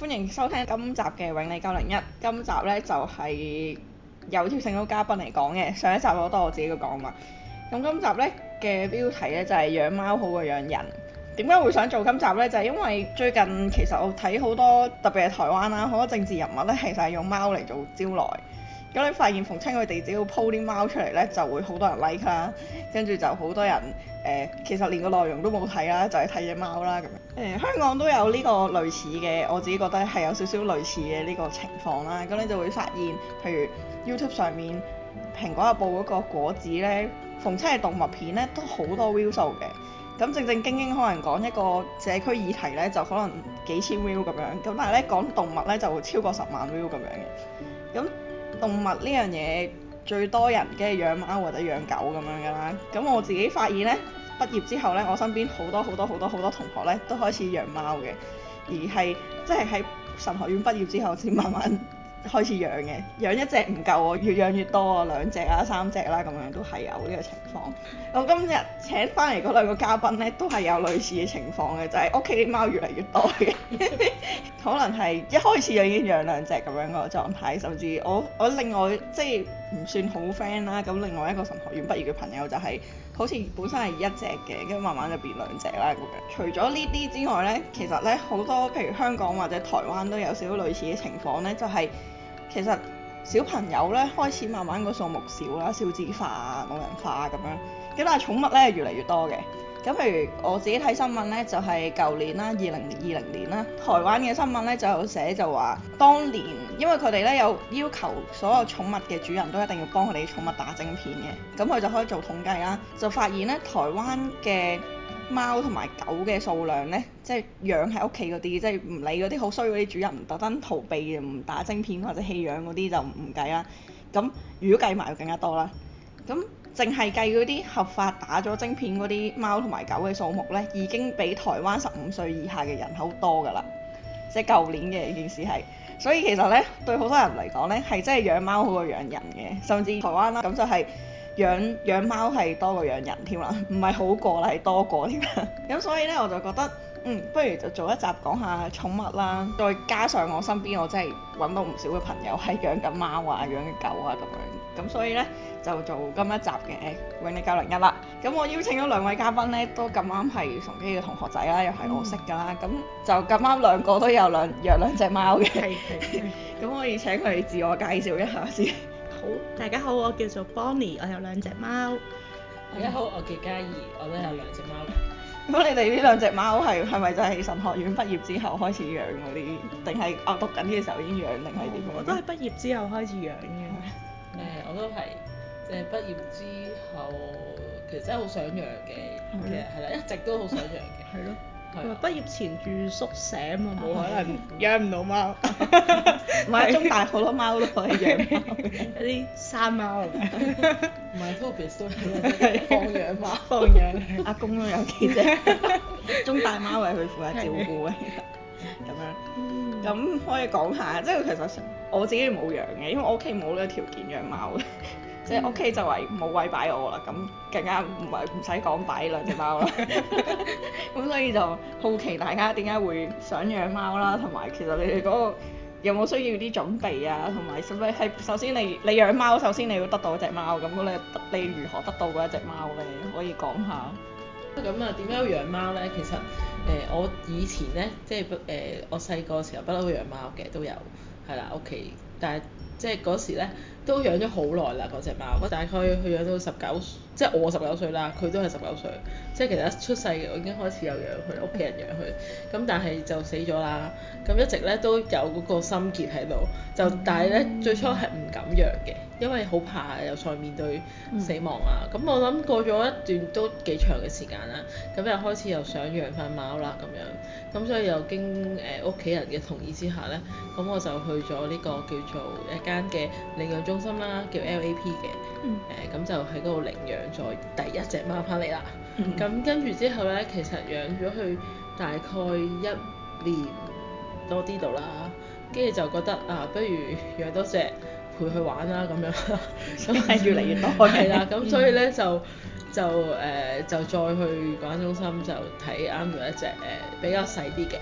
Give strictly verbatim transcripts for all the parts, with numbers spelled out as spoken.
歡迎收聽今集嘅永利九零一。今集呢就係、是、有邀請到嘉賓嚟講嘅，上一集我都我自己嘅講嘛。咁今集呢嘅標題呢就係、是、養貓好過養人。點解會想做今集呢？就係、是、因為最近其實我睇好多，特別係台灣啦，好多政治人物呢其實係用貓嚟做招來。咁你發現逢親佢哋只要 po 啲貓出嚟呢，就會好多人 like 啦，跟住就好多人誒、呃，其實連個內容都冇睇啦，就係睇隻貓啦咁樣。誒、呃、香港都有呢個類似嘅，我自己覺得係有少少類似嘅呢個情況啦。咁你就會發現，譬如 YouTube 上面蘋果日報嗰個果子呢，逢親係動物片呢，都好多 view 數嘅。咁正正經經可能講一個社區議題呢，就可能幾千 view 咁樣。咁但係呢，講動物呢，就會超過十萬 view 咁樣嘅。咁動物呢樣嘢最多人梗係養貓或者養狗咁樣㗎啦。咁我自己發現呢，畢業之後呢，我身邊好多好多好多好多同學呢都開始養貓嘅，而係即係喺神學院畢業之後先慢慢開始養嘅。養一隻唔夠喎，越養越多啊，兩隻啊三隻啦咁樣都係有呢個情況。我今日請翻嚟嗰兩個嘉賓呢，都係有類似嘅情況嘅，就係屋企啲貓越嚟越多嘅。可能係一開始就已經養兩隻咁樣個狀態，甚至我我另外即係唔算好 friend 啦。咁另外一個神學院畢業嘅朋友就係、是、好似本身係一隻嘅，跟住慢慢就變兩隻啦咁樣。除咗呢啲之外呢，其實呢好多譬如香港或者台灣都有少少類似嘅情況呢，就係、是、其實小朋友呢開始慢慢個數目少啦，少子化啊、老人化啊咁樣。咁但係寵物呢越嚟越多嘅。咁譬如我自己睇新聞呢，就係、是、舊年啦，二零二零年啦，台灣嘅新聞呢就有寫就話，當年因為佢哋呢有要求所有寵物嘅主人都一定要幫佢哋寵物打晶片嘅，咁佢就可以做統計啦，就發現呢台灣嘅貓同埋狗嘅數量呢，即係養喺屋企嗰啲，即係唔理嗰啲好衰嗰啲主人特登逃避唔打晶片或者棄養嗰啲就唔計啦。咁如果計埋就更加多啦。咁淨係計嗰啲合法打咗晶片嗰啲貓同埋狗嘅數目呢，已經比台灣十五歲以下嘅人口多㗎啦。即係舊年嘅件事係，所以其實呢，對好多人嚟講呢，係真係養貓好過養人嘅，甚至台灣啦，咁就係養養貓係多過養人添啦，唔係好過啦，係多過添啦。咁所以呢，我就覺得，嗯，不如就做一集講下寵物啦，再加上我身邊我真係揾到唔少嘅朋友係養緊貓啊、養緊狗啊咁樣，咁所以呢，就做今一集嘅永利九零一啦。咁我邀請咗兩位嘉賓呢，都咁啱係崇基嘅同學仔啦，又係我識㗎啦。咁、嗯、就咁啱兩個都有兩養兩隻貓嘅。係係。咁可以請佢哋自我介紹一下先。 好，大家好，我叫做 Bonnie，我有兩隻貓。 大家好，我叫嘉怡，我都有兩隻貓。 咁你哋呢兩隻貓係係咪就係神學院畢業之後開始養嗰啲，定係啊讀緊嘅時候已經養，定係點樣？ 我都係畢業之後開始養嘅。 誒、呃，我都係，即係畢業之後，其實真係好想養嘅，其實係啦，一直都好想養嘅。 係咯。 係啊。 畢業前住宿舍啊嘛，冇可能養唔到貓。 唔係，中大好多貓都可以養貓， 有啲山貓啊。 唔係 Tobias 都係放養貓， 放養。 阿公都有幾隻，中大貓係佢負責照顧嘅，咁樣。咁可以講下，即係其實我自己冇養嘅，因為我屋企冇呢個條件養貓嘅，即係屋企就係冇位擺我啦，咁更加唔係唔使講擺兩隻貓啦。咁所以就好奇大家點解會想養貓啦，同埋其實你哋嗰個有冇需要啲準備啊，同埋係咪係首先你你養貓，首先你要得到一隻貓，咁你你如何得到嗰一隻貓咧？可以講下。 咁啊，點解要養貓咧？其實誒、呃，我以前咧，即係誒、呃，我細個時候不嬲都養貓嘅，都有係啦屋企，但係即係嗰時咧都養咗好耐啦嗰隻貓，我大概佢養到十九，即係我十九歲啦，佢都係十九歲，即係其實一出世我已經開始有養佢，屋企人養佢，咁但係就死咗啦，咁一直咧都有嗰個心結喺度，就但係咧最初係唔敢養嘅，因為好怕又再面對死亡啊，咁、嗯、我諗過咗一段都幾長嘅時間啦，咁又開始又想養翻貓啦咁樣，咁所以又經誒屋企人嘅同意之下咧，咁我就去咗呢個叫做一間嘅領養中心啦，叫 L A P 嘅，誒咁、嗯呃、就喺嗰度領養咗第一隻貓翻嚟啦，咁、嗯、跟住之後咧，其實養咗佢大概一年多啲度啦，跟住就覺得啊，不如養多隻陪佢玩啦咁樣，咁係越嚟越多係啦，咁所以咧就就誒、呃、就再去嗰間中心就睇啱咗一隻誒、呃、比較細啲嘅，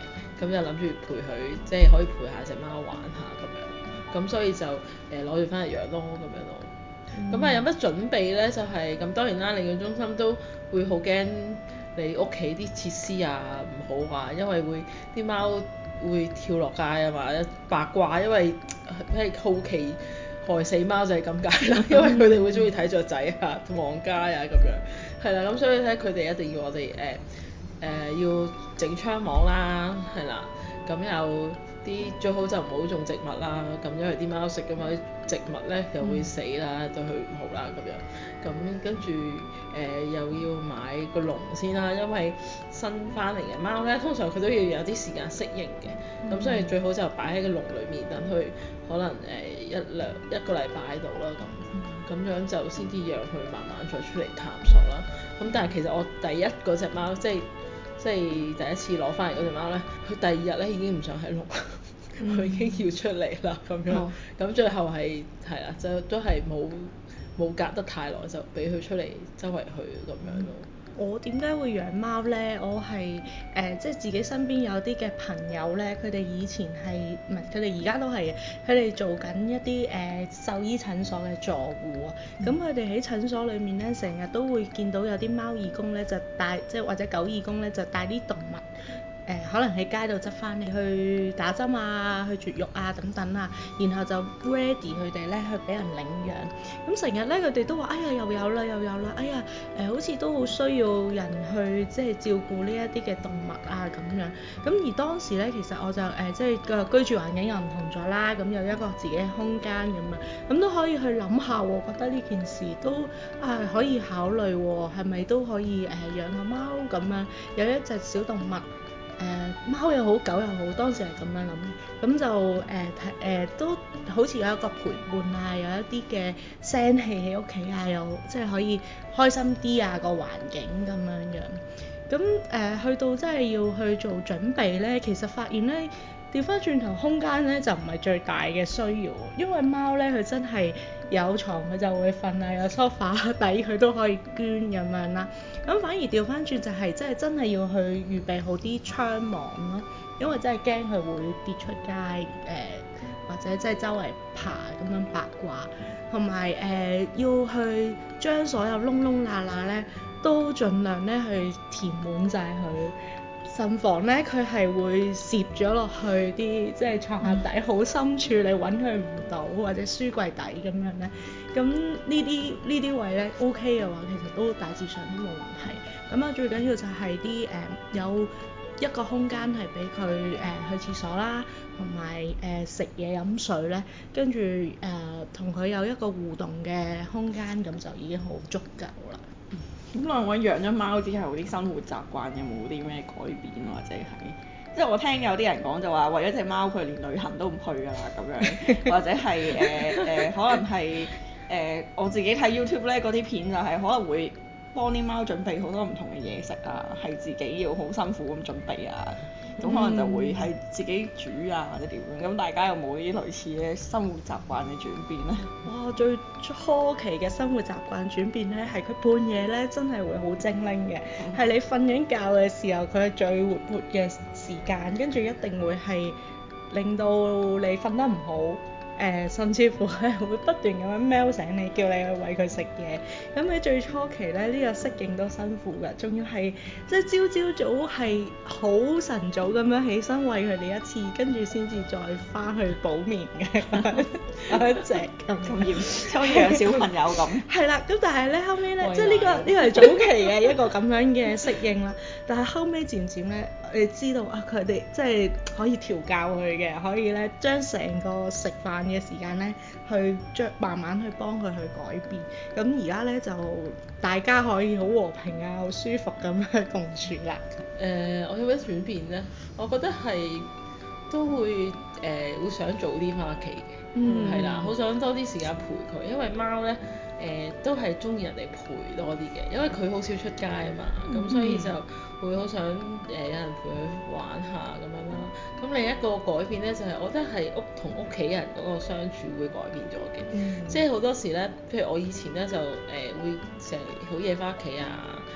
咁就諗住陪佢，即係可以陪下隻貓玩下咁樣，咁所以就誒攞住翻嚟養咯咁樣咯。咁啊、嗯、有乜準備咧？就係、是、咁當然啦，領養中心都會好驚你屋企啲設施啊唔好啊，因為會啲貓會跳落街啊嘛，八卦，因為咩好奇害死貓就係咁解啦，因為佢哋會中意睇雀仔啊、望街啊咁樣，係啦，咁所以咧佢哋一定要我哋誒誒要整窗網啦，係啦，咁又啲最好就唔好種植物啦，咁因為啲貓食㗎嘛啲植物咧又會死啦，對佢唔好啦咁樣，咁跟住誒又要買個籠先啦，因為新翻嚟嘅貓咧通常佢都要有啲時間適應嘅，咁、嗯、所以最好就擺喺個籠裡面等佢可能誒、呃、一兩一個禮拜喺度啦咁，咁、嗯、樣就先至讓佢慢慢再出嚟探索啦。咁但係其實我第一嗰隻貓即係即係第一次攞翻嚟嗰隻貓咧，佢第二日咧已經唔想喺籠，佢、嗯、已經要出嚟啦咁樣，咁、哦、最後係係啦，就都係冇冇隔得太耐就俾佢出嚟周圍去咁樣咯。 我點解會養貓呢？我係誒、呃、即係自己身邊有啲嘅朋友呢，佢哋以前係唔係佢哋而家都係嘅，佢哋做緊一啲誒、呃、獸醫診所嘅助護啊。咁佢哋喺診所裏面呢，成日都會見到有啲貓義工呢，就帶即係或者狗義工呢，就帶啲動物。誒、呃、可能喺街度執翻嚟去打針啊，去絕育啊等等啊，然後就 ready 佢哋咧去俾人領養。咁成日咧佢哋都話：哎呀又有啦又有啦，哎呀誒、呃、好似都好需要人去即係照顧呢一啲嘅動物啊咁樣。咁而當時咧其實我就誒、呃、即係個居住環境又唔同咗啦，咁有一個自己嘅空間咁樣，咁都可以去諗下喎，覺得呢件事都啊可以考慮喎，係咪都可以誒、呃、養個貓咁樣，有一隻小動物。誒、呃、貓又好狗又好，當時係咁樣諗嘅，咁就誒睇誒都好似有一個陪伴啊，有一啲嘅聲氣喺屋企啊，又即係可以開心啲啊個環境咁樣樣。咁誒、呃、去到真係要去做準備咧，其實發現咧調翻轉頭空間咧就唔係最大嘅需要，因為貓咧佢真係有床佢就會瞓啊，有梳化底佢都可以捐咁樣啦。咁反而調翻轉就係即係真係要去預備好啲窗網咯，因為真係驚佢會跌出街誒、呃，或者即係周圍爬咁樣八卦，同埋誒要去將所有窿窿罅罅咧都盡量咧去填滿晒佢。慎防咧佢係會攝咗落去啲即係床下底好深處，你揾佢唔到，或者書櫃底咁樣咧。咁呢啲呢啲位咧 OK 嘅話，其實都大致上都冇問題。咁啊最緊要就係啲誒有一個空間係俾佢誒去廁所啦，同埋誒食嘢飲水咧，跟住誒同佢有一個互動嘅空間，咁就已經好足夠啦。 咁兩位養咗貓之後啲生活習慣有冇啲咩改變，或者係即係我聽有啲人講就話為咗隻貓佢連旅行都唔去㗎啦咁樣，或者係誒誒可能係誒、呃、我自己睇 YouTube 咧嗰啲片就係可能會幫啲貓準備好多唔同嘅嘢食啊，係自己要好辛苦咁準備啊，咁可能就會係自己煮啊或者點樣，咁大家有冇啲類似嘅生活習慣嘅轉變咧？ 哇！最初期嘅生活習慣轉變咧，係佢半夜咧真係會好精靈嘅，係、嗯、你瞓緊覺嘅時候，佢係最活潑嘅時間，跟住一定會係令到你瞓得唔好。誒、呃，甚至乎係會不斷咁樣喵醒你，叫你去餵佢食嘢。咁喺最初期咧，呢、這個適應都辛苦㗎，仲要係即係朝朝早係好晨早咁樣起身餵佢哋一次，跟住先至再翻去補眠嘅嗰一隻咁嚴， 好似養小朋友咁。 係啦，咁但係咧後尾咧，即係呢個呢、這個係早期嘅一個咁樣嘅適應啦。但係後尾漸漸咧，你知道啊，佢哋即係可以調教佢嘅，可以咧將成個食飯嘅時間咧，去將慢慢去幫佢去改變。咁而家咧就大家可以好和平啊，好舒服咁樣共處啦。 誒、呃，我有咩轉變咧？我覺得係都會誒、呃、會想早啲翻屋企嘅，係、嗯、啦，好想多啲時間陪佢，因為貓咧誒、呃、都係中意人哋陪多啲嘅，因為佢好少出街啊嘛，咁、嗯、所以就會好想誒、呃、有人陪佢玩下咁樣啦。咁另一個改變咧就係、是、我覺得係屋同屋企人嗰個相處會改變咗嘅，嗯、即係好多時咧，譬如我以前咧就誒、呃、會成日好夜翻屋企啊。誒、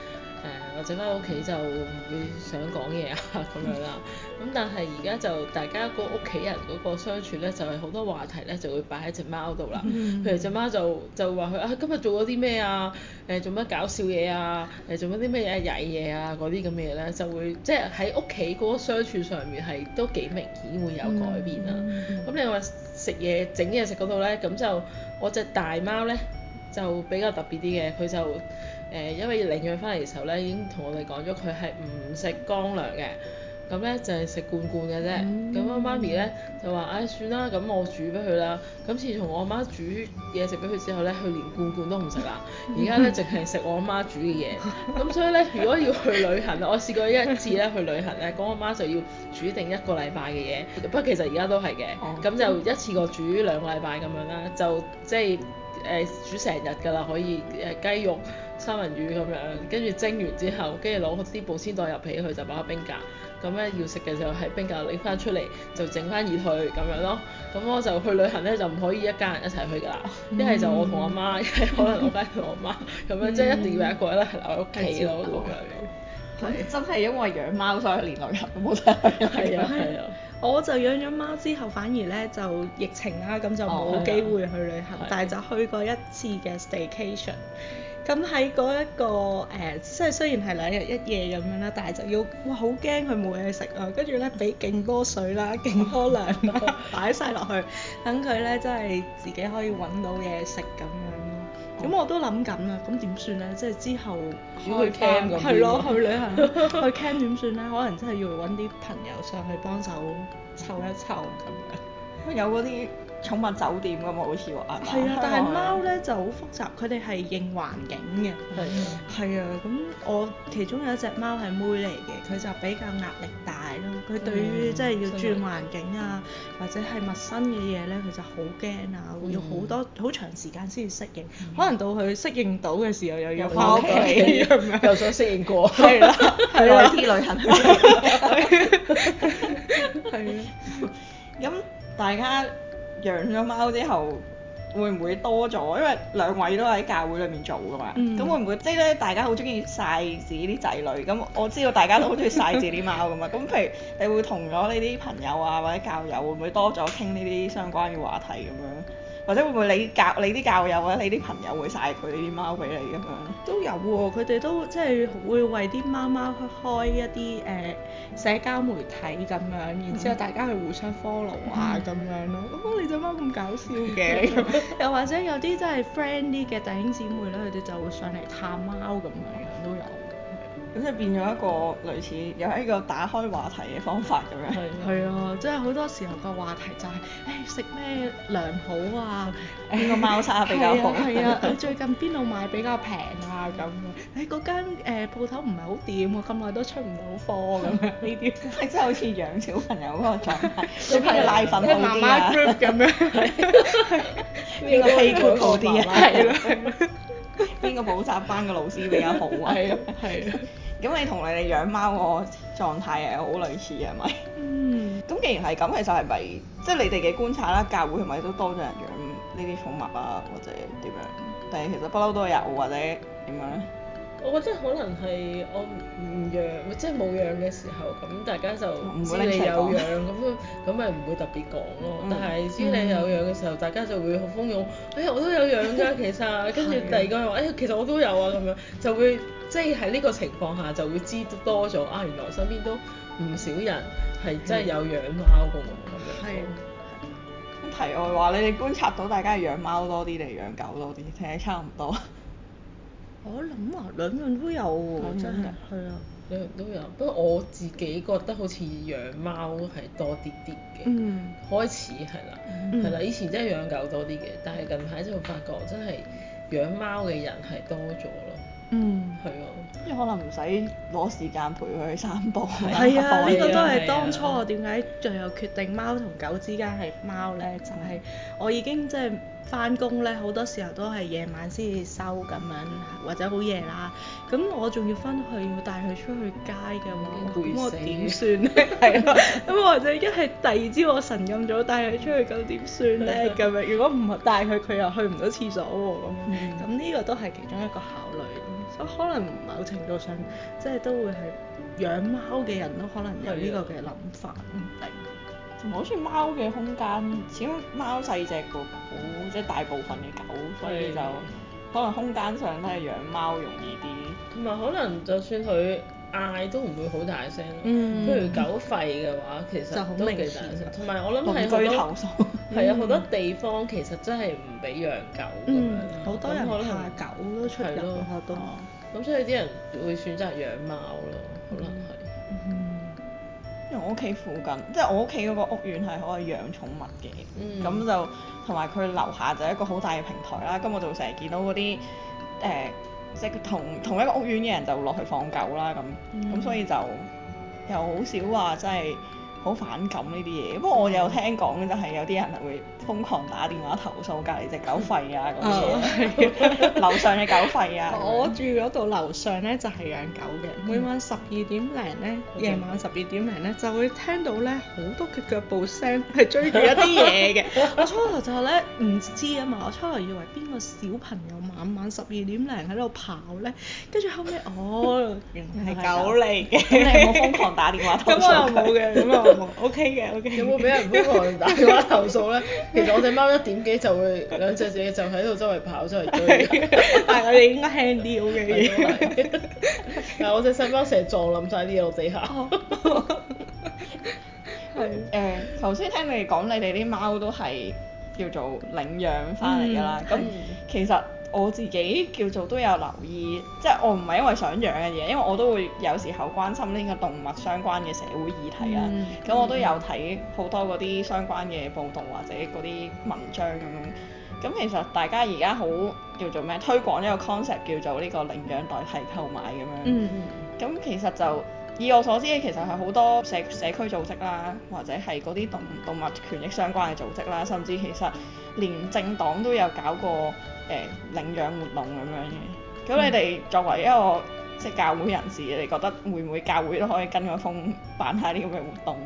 或者翻屋企就唔會想講嘢啊咁樣啦。咁但係而家就大家個屋企人嗰個相處咧，就係、是、好多話題咧就會擺喺隻貓度啦。 嗯、 譬如隻貓就就話佢啊今日做咗啲咩啊？誒做乜搞笑嘢啊？誒做乜啲咩嘢曳嘢啊？嗰啲咁嘅嘢咧就會即係喺屋企嗰個相處上面係都幾明顯會有改變啦。咁、 嗯嗯嗯、 你話食嘢整嘢食嗰度咧，咁就我隻大貓咧就比較特別啲嘅，佢就誒、呃、因為領養翻嚟嘅時候咧已經同我哋講咗佢係唔食乾糧嘅。咁咧就係食罐罐嘅啫，咁我、嗯、媽咪咧就話：唉、哎，算啦，咁我煮俾佢啦。咁自從我阿媽煮嘢食俾佢之後咧，佢連罐罐都唔食啦。而家咧淨係食我阿媽煮嘅嘢。咁所以咧，如果要去旅行，我試過一次咧去旅行咧，咁我媽就要煮定一個禮拜嘅嘢。不過其實而家都係嘅，咁、哦、就一次過煮兩個禮拜咁樣啦，就即係誒煮成日㗎啦，可以誒雞肉、三文魚咁樣，跟住蒸完之後，跟住攞啲保鮮袋入起佢就擺喺冰格。咁咧要食嘅時候喺冰格拎翻出嚟就整翻熱佢咁樣咯。咁我就去旅行咧就唔可以一家人一齊去㗎啦，一係、嗯、就我同我媽，一係可能我家同我媽咁樣，即係、嗯、一定要有一個咧係留喺屋企咯咁樣。 咁真係因為養貓所以連旅行都冇得去。 係啊係啊。 我就養咗貓之後，反而咧就疫情啦，咁就冇機會去旅行，哦、但係就去過一次嘅 staycation。咁喺嗰一個誒，即、呃、係雖然係兩日一夜咁樣啦，但係就要哇好驚佢冇嘢食啊，跟住咧俾勁多水啦、勁多糧啦，擺晒落去，等佢咧真係自己可以揾到嘢食咁樣咯。咁、哦、我都諗緊啊，咁點算咧？即係之後去 camp 咁， 係咯，去旅行去 camp 點算咧？可能真係要揾啲朋友上去幫手湊一湊咁樣。 有嗰啲寵物酒店㗎嘛，好似話係係啊，但係貓咧就好複雜，佢哋係認環境嘅。 係啊。 係啊，咁我其中有一隻貓係妹嚟嘅，佢就比較壓力大咯。佢對於即係要轉環境啊，或者係陌生嘅嘢咧，佢就好驚啊，會要好多好長時間先至適應。可能到佢適應到嘅時候，又要翻屋企咁樣。 又想適應過。 係啦，係啦。 去啲旅行。 係啊。 咁大家養咗貓之後，會唔會多咗？因為兩位都喺教會裏面做㗎嘛，咁、嗯、會唔會即係咧？大家好中意晒自己啲仔女，咁我知道大家都好中意晒自己啲貓㗎嘛。咁譬如你會同咗你啲朋友啊或者教友，會唔會多咗傾呢啲相關嘅話題咁樣？或者會唔會你教你啲教友或者你啲朋友會晒佢啲貓俾你咁樣？ 都有喎，佢哋都即係會為啲貓貓開一啲誒、呃、社交媒體咁樣，然之後大家去互相 follow 啊咁、嗯、樣咯。哦，你隻貓咁搞笑嘅，又或者有啲真係 friend 啲嘅弟兄姊妹咧，佢哋就會上嚟探貓咁樣樣都有。 咁即係變咗一個類似又係一個打開話題嘅方法咁樣。 係啊，即係好多時候個話題就係誒食咩糧好啊， 邊個貓砂比較好？ 係啊，你最近邊度買比較平啊咁樣？誒嗰間誒鋪頭唔係好掂喎，咁耐都出唔到貨咁樣呢啲。 即係好似養小朋友嗰個狀態，小朋友奶粉好啲啊。 媽媽 group 咁樣。 邊個 play group 好啲啊？ 係啦。 邊個補習班嘅老師比較好啊？ 係啊，係啊。 咁你同你哋養貓個狀態係好類似係咪？ 嗯。咁既然係咁，其實係咪即係你哋嘅觀察啦？教會係咪都多咗人養呢啲寵物啊，或者點樣？但係其實不嬲都有，或者點樣咧？ 我覺得可能係我唔養，即係冇養嘅時候，咁大家就唔知你有養，咁咁咪唔會特別講咯。嗯、但係知你有養嘅時候，大家就會好蜂擁，哎呀我都有養㗎，其實，跟住第二個又話，哎呀其實我都有啊，咁樣就會即係喺呢個情況下就會知多咗啊，原來身邊都唔少人係真係有養貓㗎喎，咁樣。係。 咁題外話，你哋觀察到大家係養貓多啲定係養狗多啲？定係差唔多？ 我諗啊，兩樣都有喎，真係，係啊， 兩樣都有。不過我自己覺得好似養貓係多啲啲嘅，嗯，開始係啦，係啦、嗯，以前真係養狗多啲嘅，但係近排就發覺真係養貓嘅人係多咗咯，嗯，係啊， 即係可能唔使攞時間陪佢去散步， 係啊，呢、呢個都係當初我點解最後決定貓同狗之間係貓咧，就係、係、我已經即係。翻工咧好多時候都係夜晚先至收咁樣，或者好夜啦。咁我仲要翻去要帶佢出去街嘅話，咁我點算咧？係咯，咁或者一係第二朝我晨咁早帶佢出去，咁點算咧？咁樣如果唔帶佢，佢又去唔到廁所喎。咁咁呢個都係其中一個考慮。 所以可能某程度上即係都會係養貓嘅人都可能有呢個嘅諗法，唔定。 同埋好似貓嘅空間，始終貓細隻過狗，即係大部分嘅狗，所以就可能空間上都係養貓容易啲。 同埋可能就算佢嗌都唔會好大聲咯。 嗯譬如狗吠嘅話，其就好實都幾大明顯聲。同埋我諗鄰係好多居投訴。 係啊，好多地方其實真係唔俾養狗咁樣嗯， 啦。 好多人咁可能怕狗都出入係咯咯，都。 咁所以啲人會選擇養貓咯，可能係。 嗯。 因為我屋企附近，即係我屋企嗰個屋苑係可以養寵物嘅，咁、 嗯就同埋佢樓下就係一個好大嘅平台啦，咁我就成日見到嗰啲誒，即係同同一個屋苑嘅人就落去放狗啦，咁咁、 嗯所以就又好少話真係好反感呢啲嘢。不過我有聽講就係有啲人係會瘋狂打電話投訴隔離隻狗吠啊嗰啲嘢，樓上嘅狗吠啊咁樣。 我住嗰度樓上咧就係養狗嘅，每晚十二點零咧，夜晚十二點零咧就會聽到咧好多嘅腳步聲係追住一啲嘢嘅。我初頭就咧唔知啊嘛，我初頭以為邊個小朋友晚晚十二點零喺度跑咧，跟住後尾哦原來係狗嚟嘅。 咁你有冇瘋狂打電話投訴？ 咁我又冇嘅，咁我冇。O K 嘅，O K。 有冇俾人瘋狂打電話投訴咧？其實我隻貓一點幾就會兩隻嘢就喺度周圍跑周圍追。 但係我哋應該輕啲 O K 嘅。 係但係我隻細貓成日撞冧晒啲嘢落地下。 係誒，頭先聽你哋講，你哋啲貓都係叫做領養翻嚟㗎啦。咁、 嗯其實我自己叫做都有留意，即係我唔係因為想養嘅嘢，因為我都會有時候關心呢個動物相關嘅社會議題啦。咁、 嗯我都有睇好多嗰啲相關嘅報導或者嗰啲文章咁樣。咁其實大家而家好叫做咩推廣一個 concept 叫做呢個領養代替購買咁樣。 嗯咁其實就以我所知其實係好多社社區組織啦，或者係嗰啲動動物權益相關嘅組織啦，甚至其實連政黨都有搞過誒、呃、領養活動咁樣嘅。咁你哋作為一個即係教會人士，你哋覺得會唔會教會都可以跟個風辦下呢咁嘅活動？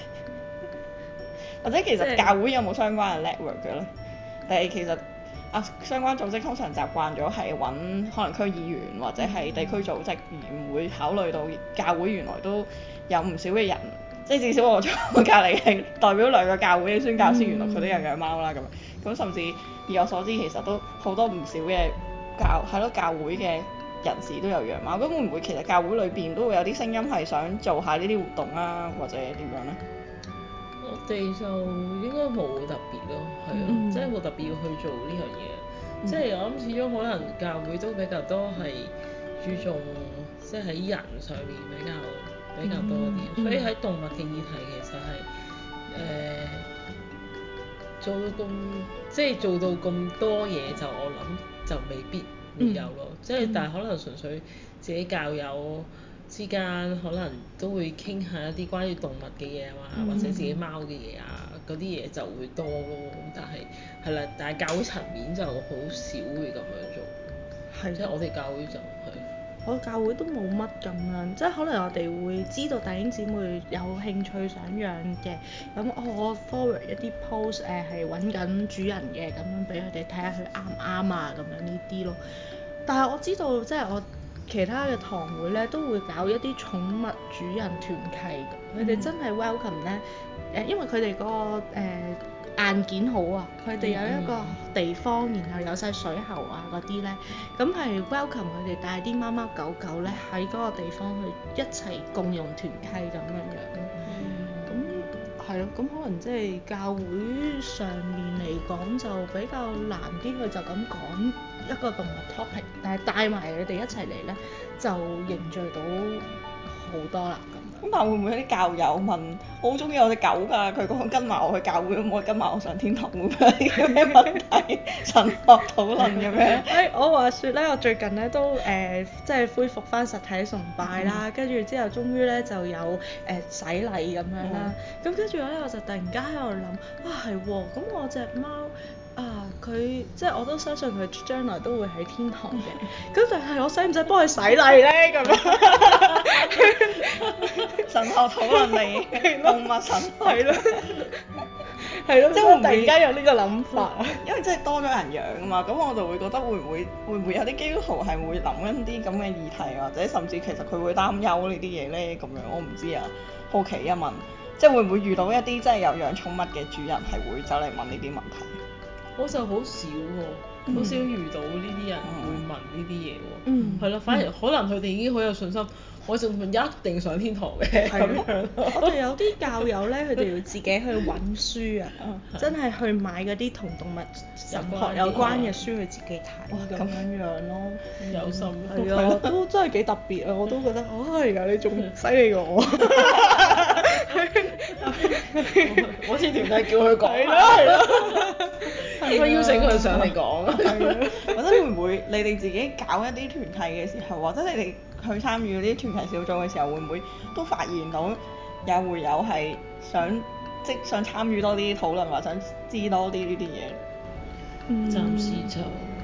或者其實教會有冇相關嘅 network 嘅咧？定係其實啊相關組織通常習慣咗係揾可能區議員或者係地區組織，而唔會考慮到教會原來都有唔少嘅人，即係至少我坐我隔離係代表兩個教會嘅宣教師，原來佢都有養貓啦咁。咁甚至以我所知，其實都好多唔少嘅教係咯教會嘅人士都有養貓。咁會唔會其實教會裏邊都會有啲聲音係想做下呢啲活動啊，或者點樣咧？ 我哋就應該冇特別咯，係啊， 嗯即係冇特別要去做呢樣嘢。 嗯、 即係我諗始終可能教會都比較多係注重即係喺人上面比較比較多啲， 嗯、 所以喺動物嘅議題其實係誒、呃、做到咁即係做到咁多嘢，就我諗就未必會有咯。 嗯、 即係但係可能純粹自己教友之間可能都會傾下一啲關於動物嘅嘢啊， 嗯、 或者自己貓嘅嘢啊，嗰啲嘢就會多咯。但係係啦，但係教會層面就好少會咁樣做。係，即係我哋教會就係。 我教會都冇乜咁樣，即係可能我哋會知道弟兄姊妹有興趣想養嘅，咁我 forward 一啲 post 誒係揾緊主人嘅，咁樣俾佢哋睇下佢啱唔啱啊，咁樣呢啲咯。但係我知道即係我其他嘅堂會咧都會搞一啲寵物主人團契，佢哋真係 welcome 咧誒，因為佢哋嗰個誒、呃硬件好啊，佢哋有一個地方，然後有晒水喉啊嗰啲咧，咁係 welcome 佢哋帶啲貓貓狗狗咧喺嗰個地方去一齊共用團契咁樣樣咯。咁係咯，咁可能即係教會上面嚟講就比較難啲，佢就咁講一個動物 topic，但係帶埋佢哋一齊嚟咧，就凝聚到好多啦咁。 咁但係會唔會有啲教友問，我好中意我隻狗㗎，佢講跟埋我去教會，可唔可以跟埋我上天堂？會唔會有啲咩問題？神學討論咁樣？ 誒，我話説咧，我最近咧都誒、呃、即係恢復翻實體崇拜啦，跟住、嗯、之後終於咧就有誒、呃、洗禮咁樣啦。咁跟住咧我就突然間喺度諗，啊係喎，咁我隻貓啊佢即係我都相信佢將來都會喺天堂嘅。咁但係我使唔使幫佢洗禮咧？咁樣神學討論嚟，動物神學。 係咯。 係咯， 即係會唔會突然間有呢個諗法啊？ 因為真係多咗人養啊嘛，咁我就會覺得會唔會會唔會有啲基督徒係會諗緊啲咁嘅議題，或者甚至其實佢會擔憂呢啲嘢咧咁樣，我唔知啊，好奇一問，即係會唔會遇到一啲真係有養寵物嘅主人係會走嚟問呢啲問題？ 我就好少喎，好少遇到呢啲人會問呢啲嘢喎， 嗯係咯，反而可能佢哋已經好有信心，我就一定上天堂嘅咁樣。 我哋有啲教友咧，佢哋要自己去揾書啊，真係去買嗰啲同動物神學有關嘅書去自己睇咁樣樣咯。 有心係啊，都真係幾特別啊！我都覺得，哦係啊，你仲犀利過我。 我似團體叫佢講。 係咯係咯。 應該邀請佢上嚟講。 或者會唔會你哋自己搞一啲團契嘅時候，或者你哋去參與嗰啲團契小組嘅時候，會唔會都發現到有會友係想即係想參與多啲討論，或者想知多啲呢啲嘢？ 嗯暫時就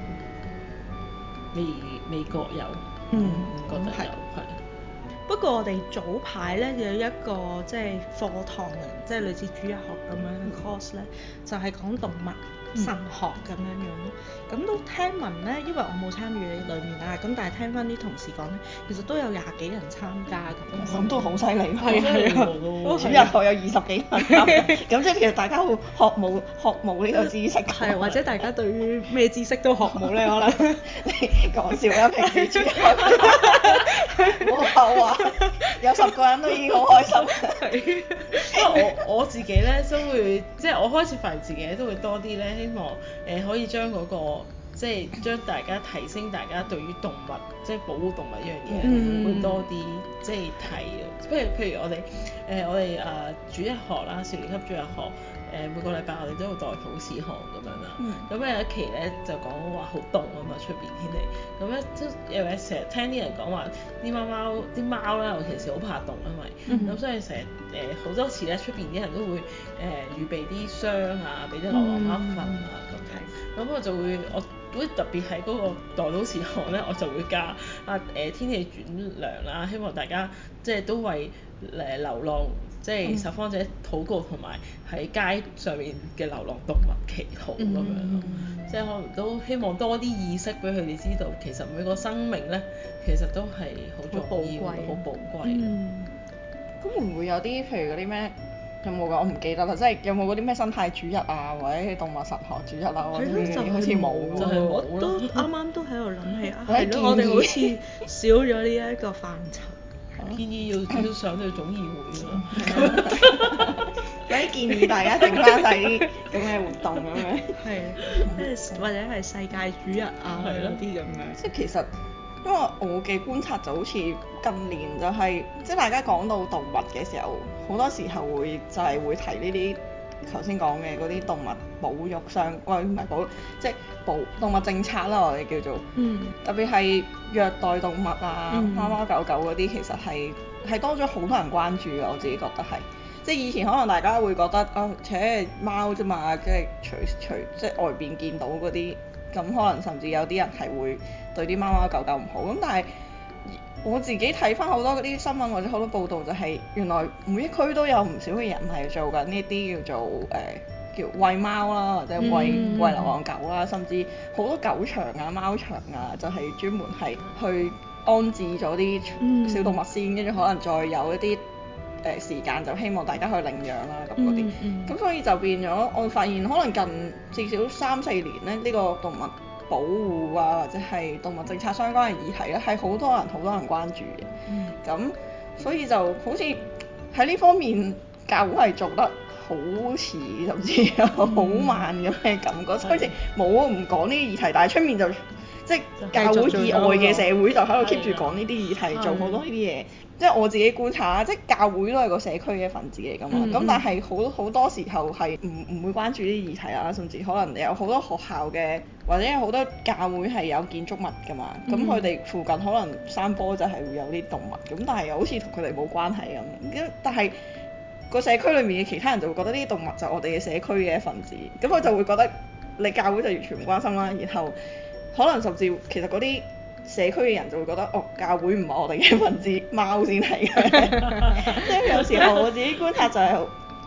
未未覺有， 嗯唔覺得有，係。 不過我哋早排咧有一個即係課堂啊，即係類似主日學咁樣嘅 course 咧，就係講動物神學咁樣樣咯。咁都聽聞咧，因為我冇參與裡面啦，咁但係聽翻啲同事講咧，其實都有廿幾人參加咁。 咁都好犀利， 係係啊， 主日學有二十幾人參加，咁即係其實大家會學冇學冇呢個知識。 係或者大家對於咩知識都學冇咧，可能。 你講笑啦，平時主日學冇後話，有十個人都已經好開心。 因為我我自己咧都會，即係我開始發現自己都會多啲咧，希望誒、呃、可以將嗰、個即係將大家提升大家對於動物即係保護動物呢樣嘢、 嗯、 會多啲即係睇嘅。譬如譬如我哋誒、呃、我哋啊、呃、主日學啦，四年級主日學誒、呃、每個禮拜我哋都有代禱事項咁樣啦。咁有、嗯、一期咧就講話好凍啊嘛，出邊天氣。咁咧都有誒成日聽啲人講話啲貓貓啲貓啦，尤其是好怕凍，因為咁、嗯、所以成日誒好多次咧出邊啲人都會誒、呃、預備啲箱啊，俾啲流浪貓瞓啊咁。咁、嗯、我就會我會特別喺嗰個代禱事項咧，我就會加啊誒、呃、天氣轉涼啦，希望大家即係都為誒流浪即係拾荒者禱告，同埋喺街上面嘅流浪動物祈禱咁樣咯。嗯、即係可能都希望多啲意識俾佢哋知道，其實每個生命咧其實都係好重要、好寶貴。 嗯。 咁會唔會有啲譬如嗰啲咩？有冇㗎？我唔記得啦，即係有冇嗰啲咩生態主日啊，或者動物神學主日啊，嗰啲好似冇， 就係冇我都啱啱都喺度諗起啊， 係咯，我哋好似少咗呢一個範疇。 建議要要上去總議會咯。 有啲建議大家整翻晒啲咁嘅活動咁樣。 係，即係或者係世界主日啊嗰啲咁樣。 即係其實。因為我嘅觀察就好似近年就係、是，即係大家講到動物嘅時候，好多時候會就係會提呢啲頭先講嘅嗰啲動物保育相，喂唔係保，即係保動物政策啦，我哋叫做， 嗯、 特別係虐待動物啊， 嗯、 貓貓狗狗嗰啲，其實係係多咗好多人關注嘅，我自己覺得係，即係以前可能大家會覺得啊，且貓啫嘛，即係隨隨即係外邊見到嗰啲。咁可能甚至有啲人係會對啲貓貓狗狗唔好，咁但係我自己睇翻好多嗰啲新聞或者好多報道，就係原來每一區都有唔少嘅人係做緊呢啲叫做誒、呃、叫餵貓啦，或者餵餵、嗯、流浪狗啦，甚至好多狗場啊、貓場啊，就係、是、專門係去安置咗啲小動物先，跟住、嗯、可能再有一啲。誒、呃、時間就希望大家去領養啦咁嗰啲，咁、嗯嗯、所以就變咗我發現可能近至少三四年咧，呢、這個動物保護啊或者係動物政策相關嘅議題咧係好多人好多人關注嘅，咁、嗯、所以就好似喺呢方面教會係做得好遲甚至好慢咁嘅感覺，好似冇唔講呢啲議題，但係出面就即係教會以外嘅社會就喺度 keep 住講呢啲議題，做好多呢啲嘢。即係我自己觀察啦，即係教會都係個社區嘅一份子嚟㗎嘛，咁、嗯、但係好好多時候係唔唔會關注呢啲議題啦，甚至可能有好多學校嘅或者有好多教會係有建築物㗎嘛，咁佢哋附近可能山坡就係會有啲動物，咁但係又好似同佢哋冇關係咁，但係個社區裏面嘅其他人就會覺得呢啲動物就係我哋嘅社區嘅一份子，咁佢就會覺得你教會就完全唔關心啦，然後可能甚至其實嗰啲社區嘅人就會覺得哦，教會唔係我哋嘅份子，貓先係嘅。即係有時候我自己觀察就係、是，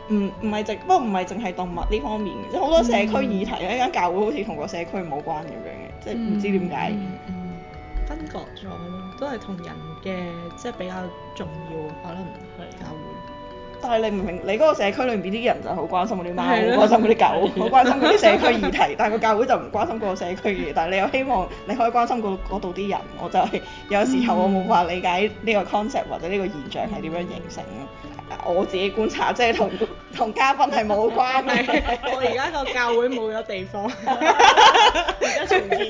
唔唔係淨，不過唔係淨係動物呢方面嘅，即係好多社區議題咧，間、嗯、教會好似同個社區冇關咁樣嘅，即係唔知點解、 嗯嗯嗯、分割咗咯，都係同人嘅即係比較重要，可能係教會。 但係你唔明，你嗰個社區裏面啲人就好關心嗰啲貓，好關心嗰啲狗，好關心嗰啲社區議題，但係個教會就唔關心嗰個社區議題，但係你又希望你可以關心嗰度啲人，我就係有時候我冇法理解呢個 concept 或者呢個現象係點樣形成咯。我自己觀察，即係同同嘉賓係冇關嘅。 我而家個教會冇咗地方，而家重建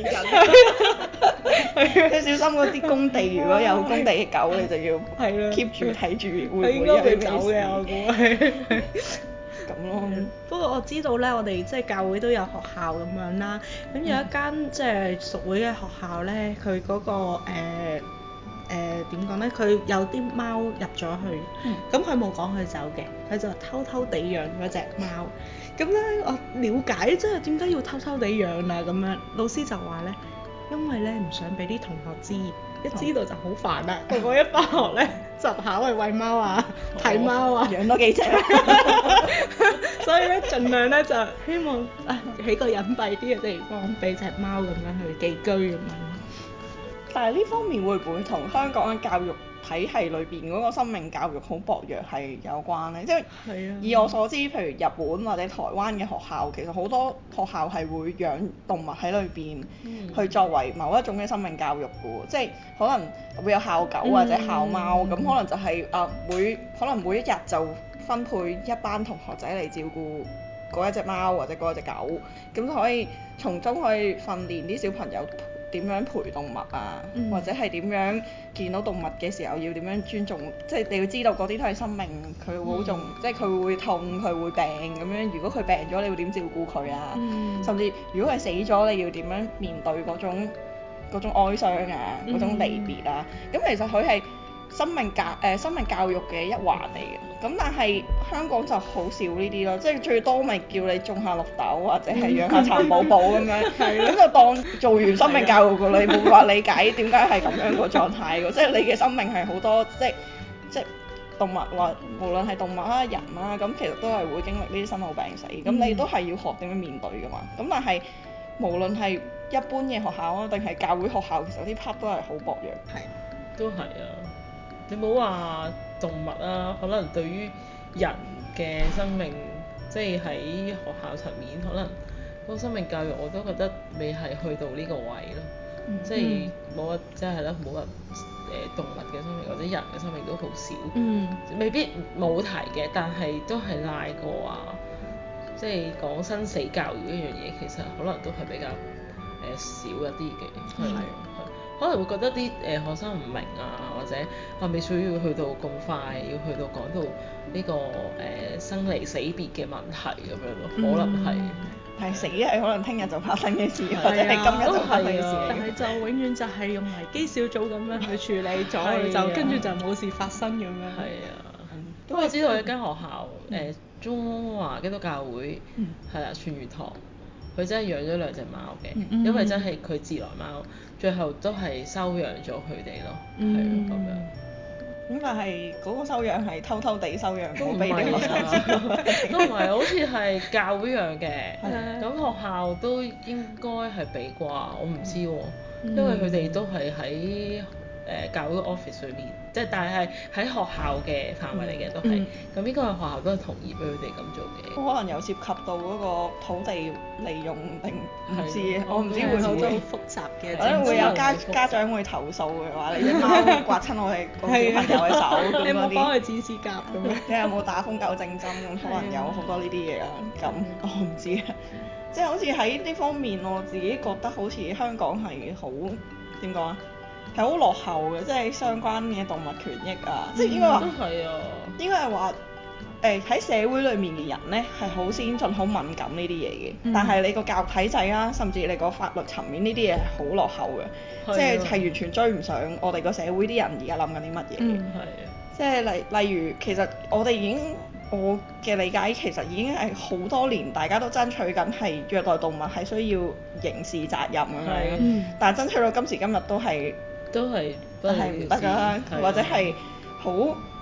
緊。 你小心嗰啲工地，如果有工地嘅狗，你就要 keep 住睇住會唔會有啲走嘅，我估係。 咁咯。 不過我知道咧，我哋即係教會都有學校咁樣啦。咁有一間即係屬會嘅學校咧，佢嗰個誒。誒點講咧？佢、呃、有啲貓入咗去，咁佢冇講佢走嘅，佢就偷偷地養嗰隻貓。咁咧我了解即係點解要偷偷地養啊？咁樣老師就話咧，因為咧唔想俾啲同學知，一知道就好煩啦。個個、哦、一返學咧就跑去餵貓啊、睇貓啊， 養多幾隻。 所以咧盡量咧就希望啊喺個隱蔽啲嘅地方俾隻貓咁樣去寄居咁樣。 但係呢方面會唔會同香港嘅教育體系裏邊嗰個生命教育好薄弱係有關呢？即係以我所知，譬如日本或者台灣嘅學校，其實好多學校係會養動物喺裏邊，嗯、去作為某一種嘅生命教育嘅喎。即係可能會有校狗或者校貓，咁、嗯、可能就係、是、啊每可能每一日就分配一班同學仔嚟照顧嗰一隻貓或者嗰一隻狗，咁就可以從中去訓練啲小朋友點樣陪動物啊，嗯、或者係點樣見到動物嘅時候要點樣尊重，即係你要知道嗰啲都係生命，佢會好重，嗯、即係佢會痛，佢會病咁樣。如果佢病咗，你會點照顧佢啊？嗯、甚至如果佢死咗，你要點樣面對嗰種嗰種哀傷啊，嗰種離別啊？咁、嗯、其實佢係生命教誒、呃、生命教育嘅一環嚟嘅。咁但係香港就好少呢啲咯，即係最多咪叫你種下綠豆或者係養下蠶寶寶咁樣，咁就當做完生命教育㗎啦。你冇法理解點解係咁樣個狀態㗎，即係你嘅生命係好多即係即係動物或無論係動物啦、人啦，咁其實都係會經歷呢啲生老病死，咁、嗯、你都係要學點樣面對㗎嘛。咁但係無論係一般嘅學校啊，定係教會學校，其實啲 part 都係好薄弱。 係，都係啊。你冇話動物啊，可能對於人嘅生命，即係喺學校層面，可能嗰個生命教育我都覺得未係去到呢個位咯。嗯、即係冇話，即係咧冇話誒動物嘅生命或者人嘅生命都好少。嗯。未必冇提嘅，但係都係賴過啊。即係講生死教育呢樣嘢，其實可能都係比較誒、呃、少一啲嘅。係、嗯。可能會覺得啲誒、呃、學生唔明啊，或者係咪需要去到咁快，要去到講到呢、呢個誒、呃、生離死別嘅問題咁樣咯，可能係。 係、嗯、死係可能聽日就發生嘅事，啊、或者係今日就發生嘅事。 但係就永遠就係用危機小組咁樣去處理咗，啊、就跟住就冇事發生咁樣。 係啊，不過我知道有一間學校誒、嗯呃、中華基督教會係啦，全魚堂。佢真係養咗兩隻貓嘅，嗯、因為真係佢自來貓，最後都係收養咗佢哋咯，係咯咁樣。 咁但係嗰個收養係偷偷地收養， 都唔係啊，都唔係，好似係教會養嘅，咁的學校都應該係俾啩，我唔知喎，嗯、因為佢哋都係喺誒教會 office 裏面，即係但係喺學校嘅範圍嚟嘅都係，咁應該係學校都係同意俾佢哋咁做嘅。 可能有涉及到嗰個土地利用定唔知嘅，我唔知會唔會好複雜嘅， 可能會有家家長會投訴嘅話，你隻貓刮親我哋個小朋友嘅手咁嗰啲。 你有冇幫佢剪指甲咁樣？ 你有冇打瘋狗症針咁？可能有好多呢啲嘢啊。咁我唔知啊，即係好似喺呢方面，我自己覺得好似香港係好點講啊？係好落後嘅，即係相關嘅動物權益啊，嗯、即係應該話， 都係啊， 應該係話誒喺社會裡面嘅人咧係好先進、好敏感呢啲嘢嘅，嗯、但係你個教育體制啊，甚至你個法律層面呢啲嘢係好落後嘅，啊、即係係完全追唔上我哋個社會啲人而家諗緊啲乜嘢嘅， 嗯啊、 即係例例如其實我哋已經我嘅理解其實已經係好多年大家都爭取緊係虐待動物係需要刑事責任咁樣，啊嗯、但係爭取到今時今日都係。 都係係唔得㗎，或者係好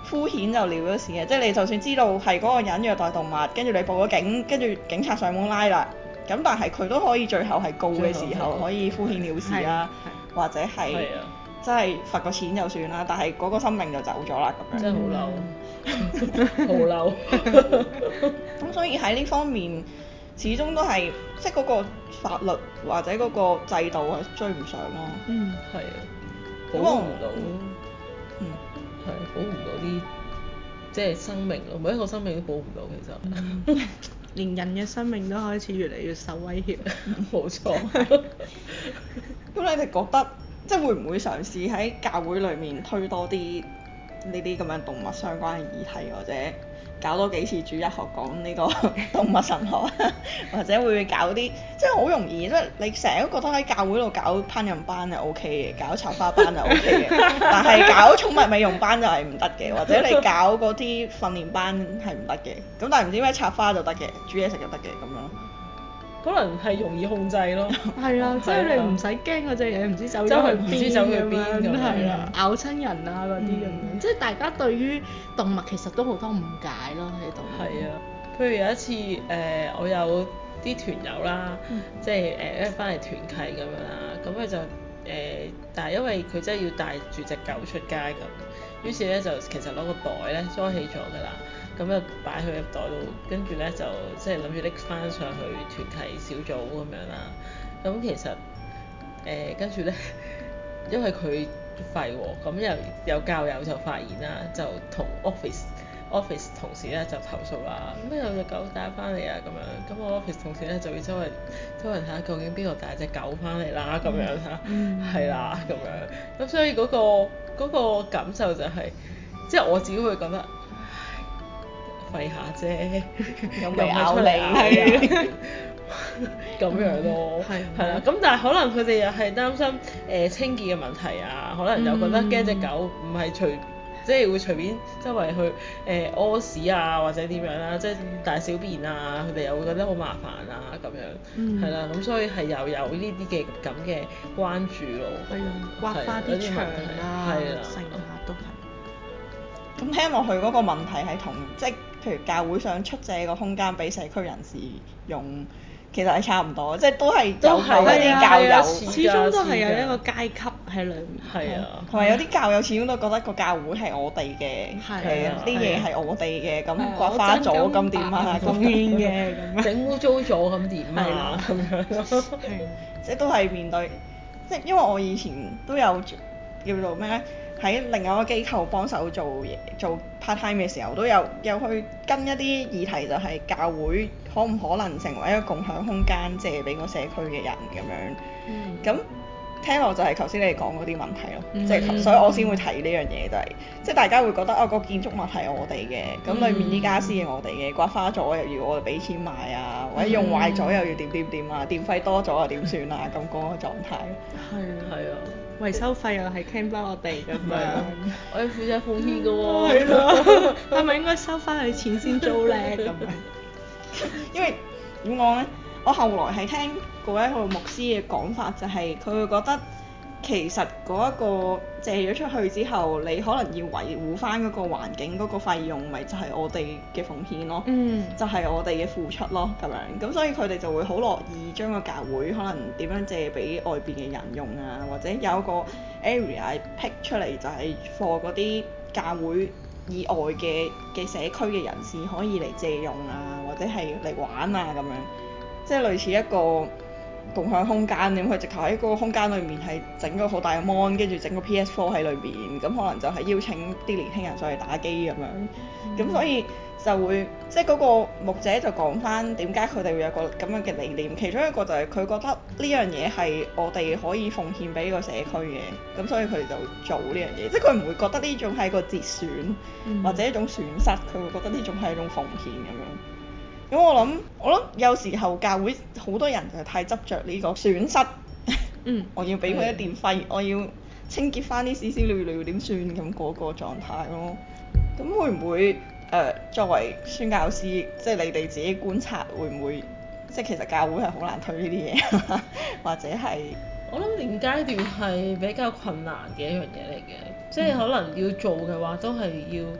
敷衍就了咗事嘅，即係你就算知道係嗰個人虐待動物，跟住你報咗警，跟住警察上門拉啦，咁但係佢都可以最後係告嘅時候可以敷衍了事啦，或者係真係罰個錢就算啦，但係嗰個生命就走咗啦咁樣。 真係好嬲，好嬲。 咁所以喺呢方面，始終都係即係嗰個法律或者嗰個制度係追唔上咯。 嗯， 係啊，保護唔到。 嗯， 係保護唔到啲即係生命咯，每一個生命都保護唔到其實。 嗯連人嘅生命都開始越嚟越受威脅。 冇錯。 咁你哋覺得即係會唔會嘗試喺教會裡面推多啲呢啲咁樣動物相關嘅議題，或者搞多幾次主日學講呢個動物神學，或者會唔會搞啲即係好容易，即係你成日都覺得喺教會度搞烹飪班係 O K 嘅，搞插花班係 O K 嘅，但係搞寵物美容班就係唔得嘅，或者你搞嗰啲訓練班係唔得嘅，咁但係唔知點解插花就得嘅，煮嘢食就得嘅咁樣。 可能係容易控制咯。 係啊，即係你唔使驚嗰隻嘢唔知走咗去邊唔知走去邊咁樣， 咁係啊，咬親人啊嗰啲咁樣，即係大家對於動物其實都好多誤解咯喺度。 係啊，譬如有一次誒、呃，我有啲團友啦， 嗯即係誒一翻嚟團契咁樣啦，咁佢就誒、呃，但係因為佢真係要帶住隻狗出街咁，於是咧就其實攞個袋咧裝起咗㗎啦。咁就擺佢入袋度，跟住咧就即係諗住拎翻上去團契小組咁樣啦。咁其實誒跟住咧，因為佢吠喎，咁又有教友就發現啦，就同 office office 同事咧就投訴啦。咩有隻狗帶翻嚟啊咁樣，咁我 office 同事咧就要周圍周圍睇下究竟邊個帶隻狗翻嚟啦咁樣嚇，係啦咁樣。咁所以嗰個嗰個感受就係，即係我自己會覺得。吠下啫， 又未咬你， 咁樣咯，係啦。咁但係可能佢哋又係擔心誒、呃、清潔嘅問題啊，可能又覺得驚隻狗唔係隨即係會隨便周圍去誒屙、呃、屎啊或者點樣啦，即係大小便啊，佢哋又會覺得好麻煩啊咁樣，係啦、嗯。咁所以係又有呢啲嘅咁嘅關注咯， 係啊，刮花啲牆啊，成下都係。 咁聽落去嗰個問題係同即係譬如教會想出借個空間俾社區人士用，其實係差唔多，即係都係有某一啲教友， 始終都係有一個階級喺裏面。 係啊， 同埋有啲教友始終都覺得個教會係我哋嘅， 係啊， 啲嘢係我哋嘅，咁刮花咗咁點啊？ 貢獻嘅咁樣， 整污糟咗咁點啊？咁樣咯， 係，即係都係面對，即係因為我以前都有叫做咩咧？喺另外一個機構幫手做嘢做 part time 嘅時候，都有有去跟一啲議題，就係教會可唔可能成為一個共享空間，借俾個社區嘅人咁樣。咁、嗯、聽落就係頭先你哋講嗰啲問題咯，即係、嗯、所以我先會提呢樣嘢，就係即係大家會覺得啊、個建築物係我哋嘅，咁裡面啲傢俬係我哋嘅，刮花咗又要我哋俾錢買啊，或者用壞咗又要點點點啊，電費多咗又點算啊，咁嗰個狀態。 係啊， 係啊。 維修費又係傾翻我哋咁樣， 我要負責奉獻㗎喎。 係咯，係咪應該收翻佢錢先租咧咁樣？ 因為點講咧？我後來係聽過一個牧師嘅講法，就係佢會覺得其實嗰一個借咗出去之後，你可能要維護翻嗰個環境嗰個費用，咪就係我哋嘅奉獻咯， 嗯， 就係我哋嘅付出咯咁樣。咁所以佢哋就會好樂意將個教會可能點樣借俾外邊嘅人用啊，或者有一個 area pick 出嚟就係 for 嗰啲教會以外嘅嘅社區嘅人士可以嚟借用啊，或者係嚟玩啊咁樣，即係類似一個共享空間咁，佢直頭喺嗰個空間裏面係整個好大嘅 mon， 跟住整個 P S 四 喺裏邊，咁可能就係邀請啲年輕人上嚟打機咁樣，咁、嗯、所以就會即係嗰個牧者就講翻點解佢哋會有個咁樣嘅理念，其中一個就係佢覺得呢樣嘢係我哋可以奉獻俾個社區嘅，咁所以佢哋就做呢樣嘢，即係佢唔會覺得呢種係一個節損、嗯、或者一種損失，佢會覺得呢種係一種奉獻咁樣。咁我諗，我諗有時候教會好多人就係太執着呢個損失，嗯，我要俾佢一電費，我要清潔翻啲屎屎尿尿點算咁嗰個狀態咯。咁會唔會誒、呃、作為宣教師，即係你哋自己觀察會唔會，即係其實教會係好難推呢啲嘢，或者係我諗現階段係比較困難嘅一樣嘢嚟嘅，即係可能要做嘅話都係要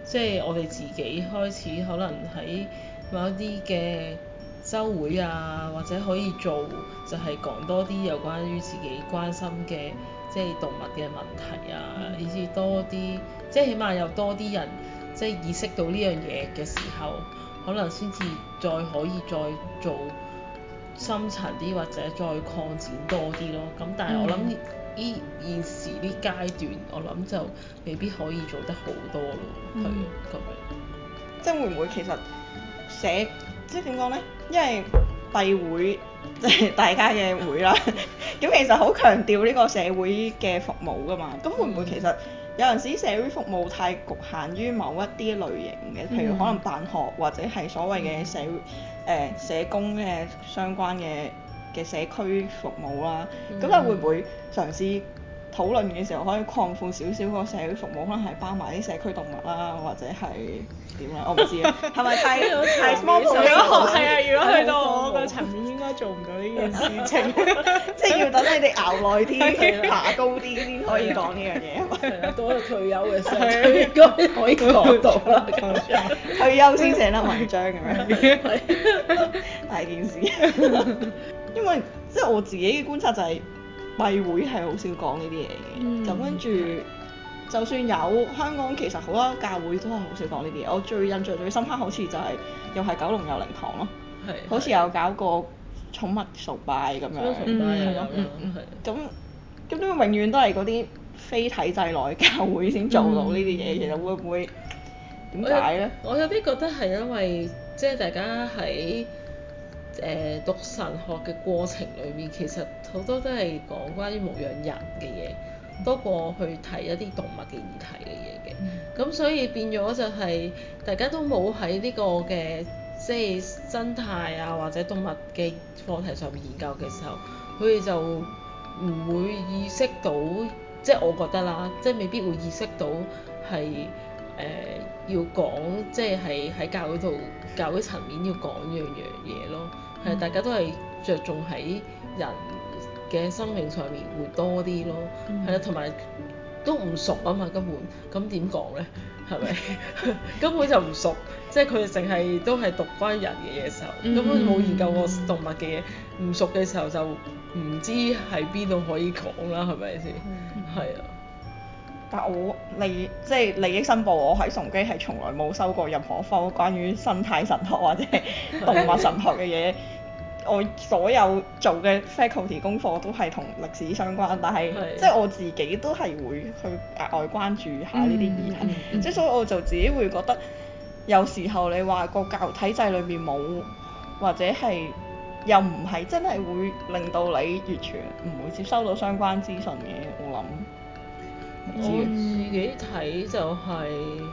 即係我哋自己開始可能喺某一啲嘅週會啊，或者可以做就係講多啲有關於自己關心嘅即係動物嘅問題啊，以至多啲即係起碼有多啲人即係意識到呢樣嘢嘅時候，可能先至再可以再做深層啲或者再擴展多啲咯。咁但係我諗呢依現時呢階段，我諗就未必可以做得好多咯，係咁樣。 即係會唔會其實社即係點講呢？因為閉會即係大家嘅會啦，咁其實好強調呢個社會嘅服務㗎嘛。咁會唔會其實有陣時社會服務太局限於某一啲類型嘅，譬如可能辦學或者係所謂嘅社誒、呃、社工嘅相關嘅嘅社區服務啦。咁但係會唔會嘗試討論嘅時候可以擴闊少少個社會服務，可能係包埋啲社區動物啦，或者係點咧？我唔知啊，係咪太太 small？ 如果係啊，如果去到我個個層面，應該做唔到呢件事情。 即係要等你哋熬耐啲、爬高啲先可以講呢樣嘢。 係啊，到咗退休嘅時候應該可以講到啦。 退休先寫得文章咁樣，大件事。因為即係我自己嘅觀察就係、是。閉會係好少講呢啲嘢嘅，咁跟住就算有香港，其實好多教會都係好少講呢啲嘢。我最印象最深刻好似就係、是、又係九龍佑寧堂咯， 係好似有搞過寵物崇拜咁樣， 係咯， 咁咁都永遠都係嗰啲非體制內教會先做到呢啲嘢，嗯、其實會唔會點解呢？ 我有啲覺得係因為即係大家喺誒、呃、讀神學嘅過程裏面，其實好多都係講關於牧養人嘅嘢，多過去睇一啲動物嘅議題嘅嘢嘅。咁、嗯、所以變咗就係、是、大家都冇喺呢個嘅即係生態啊或者動物嘅課題上面研究嘅時候，佢哋就唔會意識到，即係我覺得啦，即係未必會意識到係誒、呃、要講，即係係喺教會度教會層面要講樣樣嘢咯。係、嗯、大家都係着重喺人嘅生命上面會多啲咯，係啦、嗯，同埋都唔熟啊嘛，根本咁點講咧？係咪根本就唔熟？即係佢哋淨係都係讀關於人嘅嘢時候，根本冇研究過動物嘅嘢，唔熟嘅時候就唔知喺邊度可以講啦，係咪先？係啊、嗯。 但我利即係利益申報，我喺崇基係從來冇收過任何科關於生態神學或者動物神學嘅嘢。我所有做嘅 faculty 功課都係同歷史相關，但係即係我自己都係會去額外關注下呢啲議題。即係、嗯嗯、所以我就自己會覺得，有時候你話個教育體制裏面冇，或者係又唔係真係會令到你完全唔會接收到相關資訊嘅，我諗。 我自己睇就係、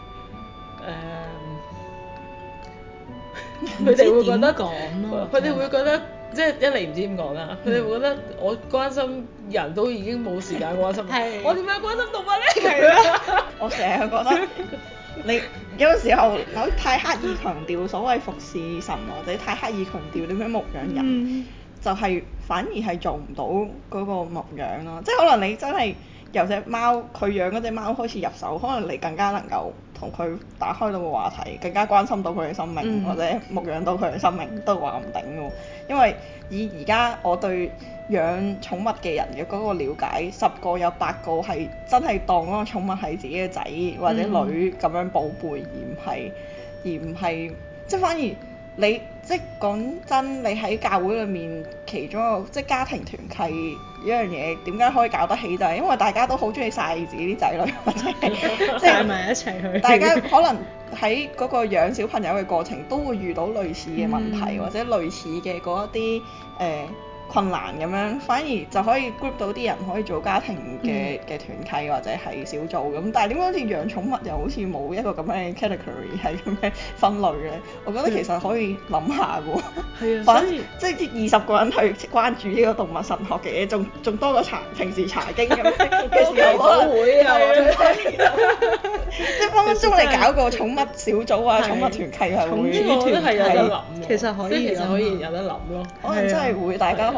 是、誒，佢、嗯、哋會覺得講佢哋會覺得即係一嚟唔知點講啦，佢哋、嗯、會覺得我關心人都已經冇時間關心，是我點解關心動物咧？ 我成日覺得你有時候有太刻意強調所謂服侍神，或者太刻意強調點樣牧養人，嗯、就係反而係做唔到嗰個牧養咯。即係可能你真係。由隻貓佢養嗰隻貓開始入手，可能你更加能夠同佢打開到個話題，更加關心到佢嘅生命，嗯、或者牧養到佢嘅生命都話唔定喎。因為以而家我對養寵物嘅人嘅嗰個了解，十個有八個係真係當嗰個寵物係自己嘅仔或者女咁樣寶貝，而唔係而唔係即係反而你即係講真，你喺教會裏面其中一個即係家庭團契呢樣嘢點解可以搞得起，就係因為大家都好中意晒自己啲仔女，或者即係埋一齊去。大家可能喺嗰個養小朋友嘅過程都會遇到類似嘅問題，嗯、或者類似嘅嗰一啲誒。呃困難咁樣，反而就可以 group 到啲人可以做家庭嘅嘅、嗯、團契或者係小組咁。但係點解好似養寵物又好似冇一個咁嘅 category 係咁嘅分類咧？我覺得其實可以諗下嘅喎。係啊，反即係二十個人去關注呢個動物神學嘅嘢，仲仲多過查平時查經咁嘅時候可能會啊，即係分分鐘你搞個寵物小組啊、寵物團契係會。 呢個都係有得諗， 其實可以， 其實可以有得諗咯。 可能真係會大家可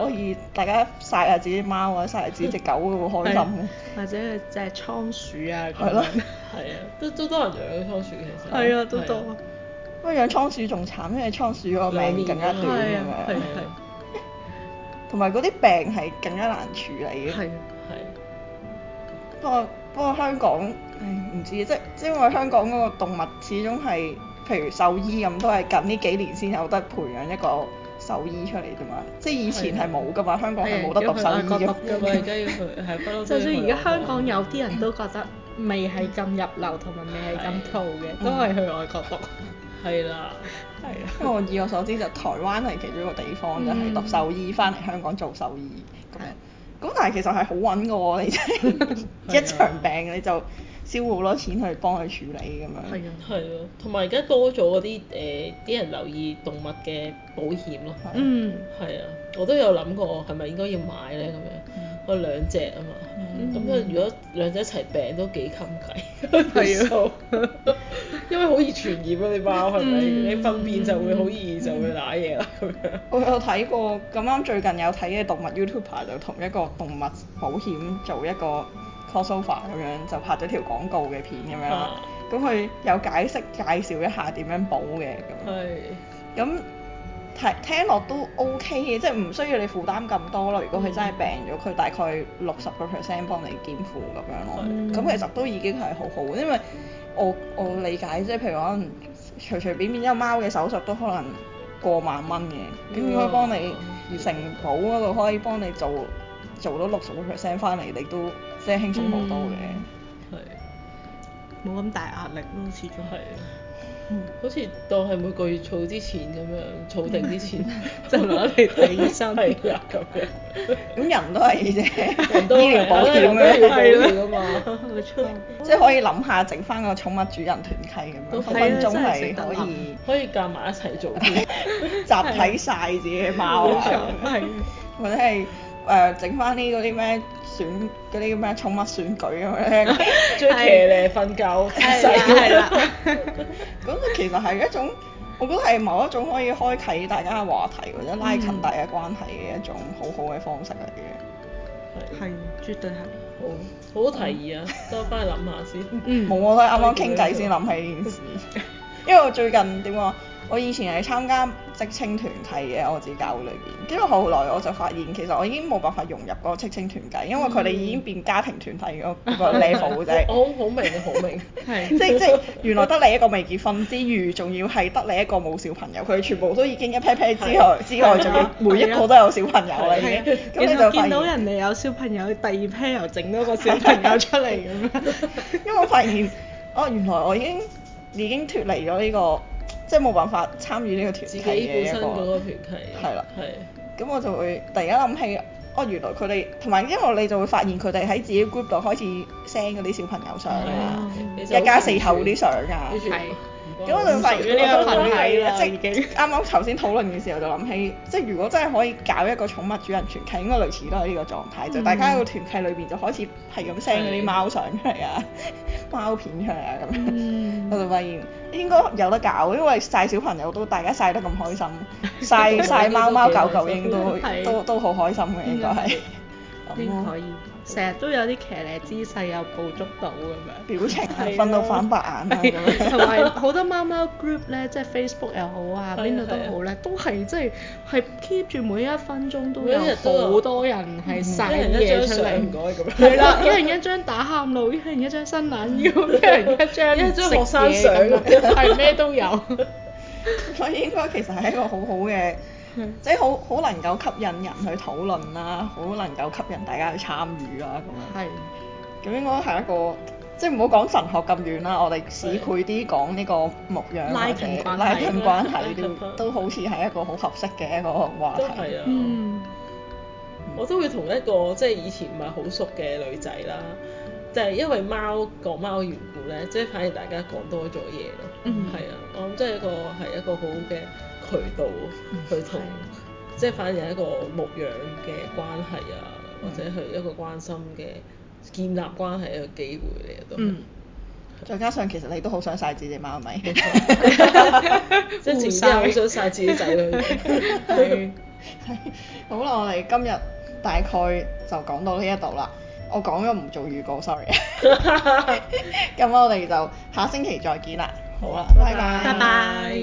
可以大家曬下自己貓啊，曬下自己隻狗都好開心。 或者係隻倉鼠啊咁係咯樣。 係啊，都都多人養倉鼠其實。 係啊，都多。 不過養倉鼠仲慘，因為倉鼠個命更加短咁係啊係樣， 係。 同埋嗰啲病係更加難處理嘅。 係。 係。 不過不過香港，唉唔知即即因為香港嗰個動物始終係，譬如獸醫咁，都係近呢幾年先有得培養一個獸醫出嚟啫嘛。即係以前係冇噶嘛，香港係冇得讀獸醫嘅。 咁啊，而家要去係不嬲。 就算而家香港有啲人都覺得未係咁入流同埋未係咁套嘅，都係去外國讀。 係啦。 係啊，因為我以我所知就台灣係其中一個地方，就係讀獸醫翻嚟香港做獸醫咁樣。咁但係其實係好揾嘅喎，你真係一場病你就燒好多錢去幫佢處理咁樣。 係啊。 係啊，同埋而家多咗嗰啲誒啲人留意動物嘅保險咯。 嗯。 係啊，我都有諗過係咪應該要買咧咁樣，我兩隻啊嘛。咁啊，如果兩隻一齊病都幾襟計。係啊。因為好易傳染啊！啲貓係咪？你糞便就會好易就會瀨嘢啦咁樣。 我有睇過，咁啱最近有睇嘅動物 YouTuber 就同一個動物保險做一個 crossover 咁樣，就拍咗條廣告嘅片咁樣啦。咁佢有解釋介紹一下點樣保嘅咁。 係。 咁聽聽落都 OK 嘅，即係唔需要你負擔咁多咯。如果佢真係病咗，佢大概六十個 percent 幫你肩負咁樣咯。咁其實都已經係好好，因為我我理解即係譬如可能隨隨便便一個貓嘅手術都可能過萬蚊嘅，咁應該幫你承保嗰度可以幫你做做到六十個 percent 翻嚟，你都即係輕鬆好多嘅。 係。 冇咁大壓力咯，始終。 係。嗯、好似當係每個月儲啲錢咁樣，儲定啲錢就攞嚟睇醫生。 係啊，咁樣。 咁人都係啫， 人都醫療保險咁樣要保嘅險㗎嘛。 冇錯。 即係可以諗下整翻個寵物主人團契咁樣，分分鐘係可以可以夾埋一齊做添， 集體晒自己嘅貓啊， 係。 或者係誒整翻啲嗰啲咩選嗰啲咩寵物選舉咁樣， 最騎呢瞓覺姿勢。 係啦。 咁其實係一種，我覺得係某一種可以開啟大家嘅話題或者拉近大家關係嘅一種好好嘅方式嚟嘅。 係。係，絕對係。 好，好提議啊！等我翻去諗下先。 嗯。 冇，我都係啱啱傾偈先諗起呢件事。因為我最近點講？我以前係參加職青團契嘅，我自己教會裏邊。跟住後來我就發現，其實我已經冇辦法融入嗰個職青團契，因為佢哋已經變家庭團體嗰個 level 啫。 我好明啊，好明。 係。 即即係原來得你一個未結婚之餘，仲要係得你一個冇小朋友，佢哋全部都已經一 pair pair 之外之外，仲要每一個都有小朋友啦已經。咁你就發現見到人哋有小朋友，第二 pair 又整多個小朋友出嚟咁樣。因為我發現，哦原來我已經已經脫離咗呢個。即係冇辦法參與呢個團契嘅一個， 自己本身嗰個團契。 係啦。 係。 咁我就會突然間諗起，哦原來佢哋同埋因為你就會發現佢哋喺自己 group 度開始 send 嗰啲小朋友相啊，一家四口嗰啲相啊。 係。 咁我就發現呢個群體啦， 即係啱啱頭先討論嘅時候就諗起，即係如果真係可以搞一個寵物主人團契，應該類似都係呢個狀態，就大家喺個團契裏邊就開始係咁 send 嗰啲貓相出嚟啊、貓片出嚟啊咁樣，我就發現應該有得搞，因為曬小朋友都大家曬得咁開心，曬曬貓貓狗狗應都都都好開心嘅應該係。 應該可以，成日都有啲騎呢姿勢又捕捉到咁樣， 表情係瞓到反白眼啊咁樣， 同埋好多貓貓 group 咧，即係 Facebook 又好啊，邊度都好咧，都係即係係 keep 住每一分鐘都有好多人係曬嘢出嚟， 唔該咁樣。 係啦，一人一張打喊路，一人一張伸懶腰，一人一張一張學生相， 係咩都有。 所以應該其實係一個好好嘅。即係好好能夠吸引人去討論啦，好能夠吸引大家去參與啦咁樣。係。咁應該係一個，即係唔好講神學咁遠啦，我哋市儈啲講呢個牧養或者拉近關係都都好似係一個好合適嘅一個話題。 都係啊。 嗯。 我都會同一個即係以前唔係好熟嘅女仔啦，就係因為貓講貓嘅緣故咧，即係反而大家講多咗嘢咯。嗯。係啊，我諗即係一個係一個好嘅渠道去同，即係反而係一個牧養嘅關係啊，或者係一個關心嘅建立關係一個機會嚟嘅都。嗯。 再加上其實你都好想曬自己貓咪， 即係自己好想曬自己仔女。 係。 係好啦，我哋今日大概就講到呢一度啦。我講咗唔做預告，sorry。咁我哋就下星期再見啦。好啦，拜拜。 拜拜。